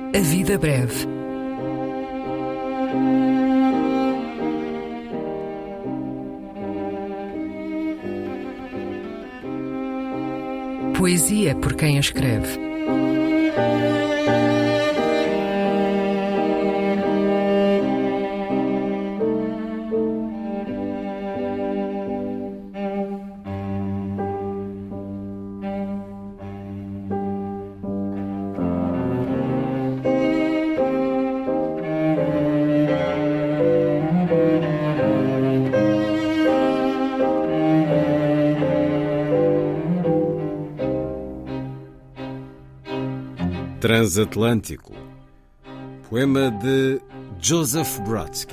A vida breve. Poesia por quem a escreve. Transatlântico. Poema de Joseph Brodsky.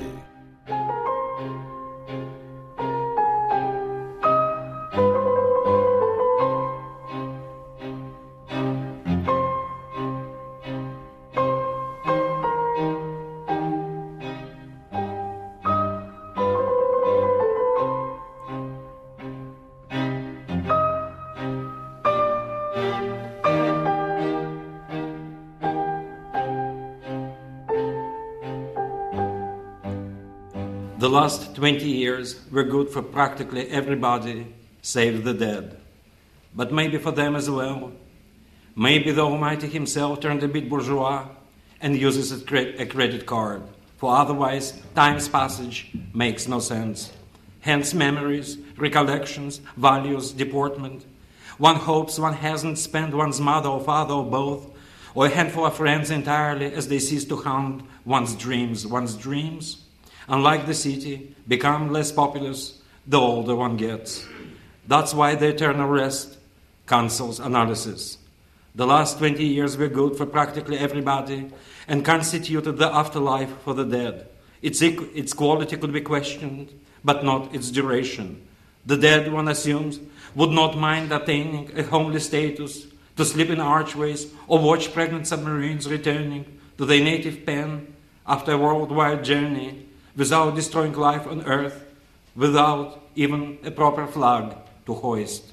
The last 20 years were good for practically everybody save the dead. But maybe for them as well. Maybe the Almighty himself turned a bit bourgeois and uses a credit card, for otherwise time's passage makes no sense. Hence memories, recollections, values, deportment. One hopes one hasn't spent one's mother or father or both, or a handful of friends entirely as they cease to haunt one's dreams. One's dreams, unlike the city, become less populous the older one gets. That's why the eternal rest cancels analysis. The last 20 years were good for practically everybody and constituted the afterlife for the dead. Its quality could be questioned, but not its duration. The dead, one assumes, would not mind attaining a homely status, to sleep in archways or watch pregnant submarines returning to their native pen after a worldwide journey, without destroying life on Earth, without even a proper flag to hoist.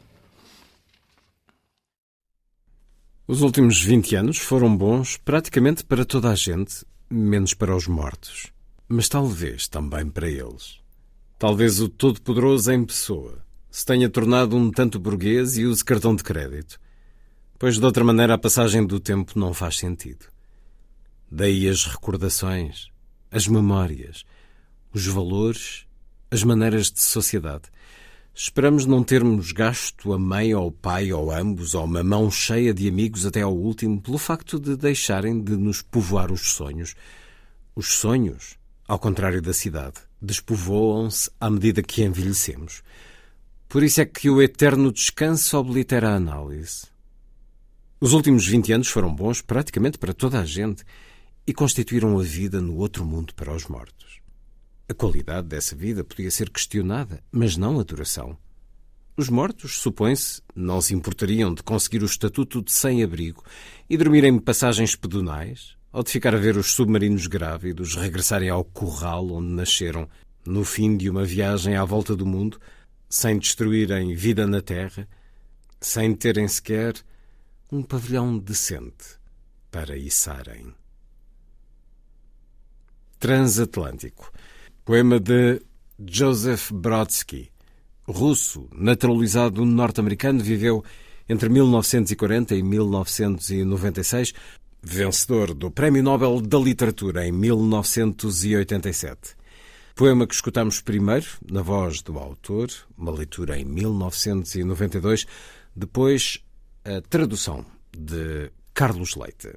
Os últimos 20 anos foram bons praticamente para toda a gente, menos para os mortos. Mas talvez também para eles. Talvez o Todo-Poderoso em pessoa se tenha tornado um tanto burguês e use cartão de crédito, pois de outra maneira a passagem do tempo não faz sentido. Daí as recordações, as memórias, os valores, as maneiras de sociedade. Esperamos não termos gasto a mãe ou o pai ou ambos, ou uma mão cheia de amigos até ao último, pelo facto de deixarem de nos povoar os sonhos. Os sonhos, ao contrário da cidade, despovoam-se à medida que envelhecemos. Por isso é que o eterno descanso oblitera a análise. Os últimos 20 anos foram bons praticamente para toda a gente, e constituíram a vida no outro mundo para os mortos. A qualidade dessa vida podia ser questionada, mas não a duração. Os mortos, supõe-se, não se importariam de conseguir o estatuto de sem-abrigo e dormir em passagens pedonais, ou de ficar a ver os submarinos grávidos regressarem ao curral onde nasceram, no fim de uma viagem à volta do mundo, sem destruírem vida na terra, sem terem sequer um pavilhão decente para içarem. Transatlântico. Poema de Joseph Brodsky. Russo, naturalizado norte-americano, viveu entre 1940 e 1996, vencedor do Prémio Nobel da Literatura em 1987. Poema que escutamos primeiro, na voz do autor, uma leitura em 1992, depois a tradução de Carlos Leite.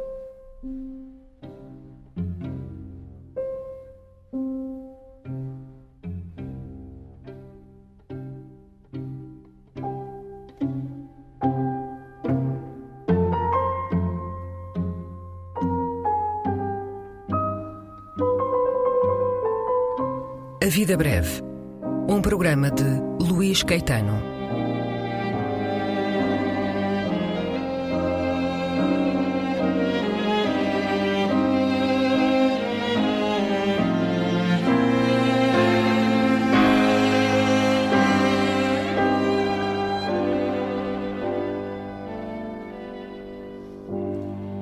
A vida breve. Um programa de Luís Caetano.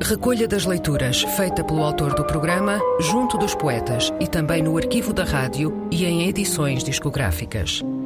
recolha das leituras feita pelo autor do programa junto dos poetas e também no arquivo da rádio e em edições discográficas.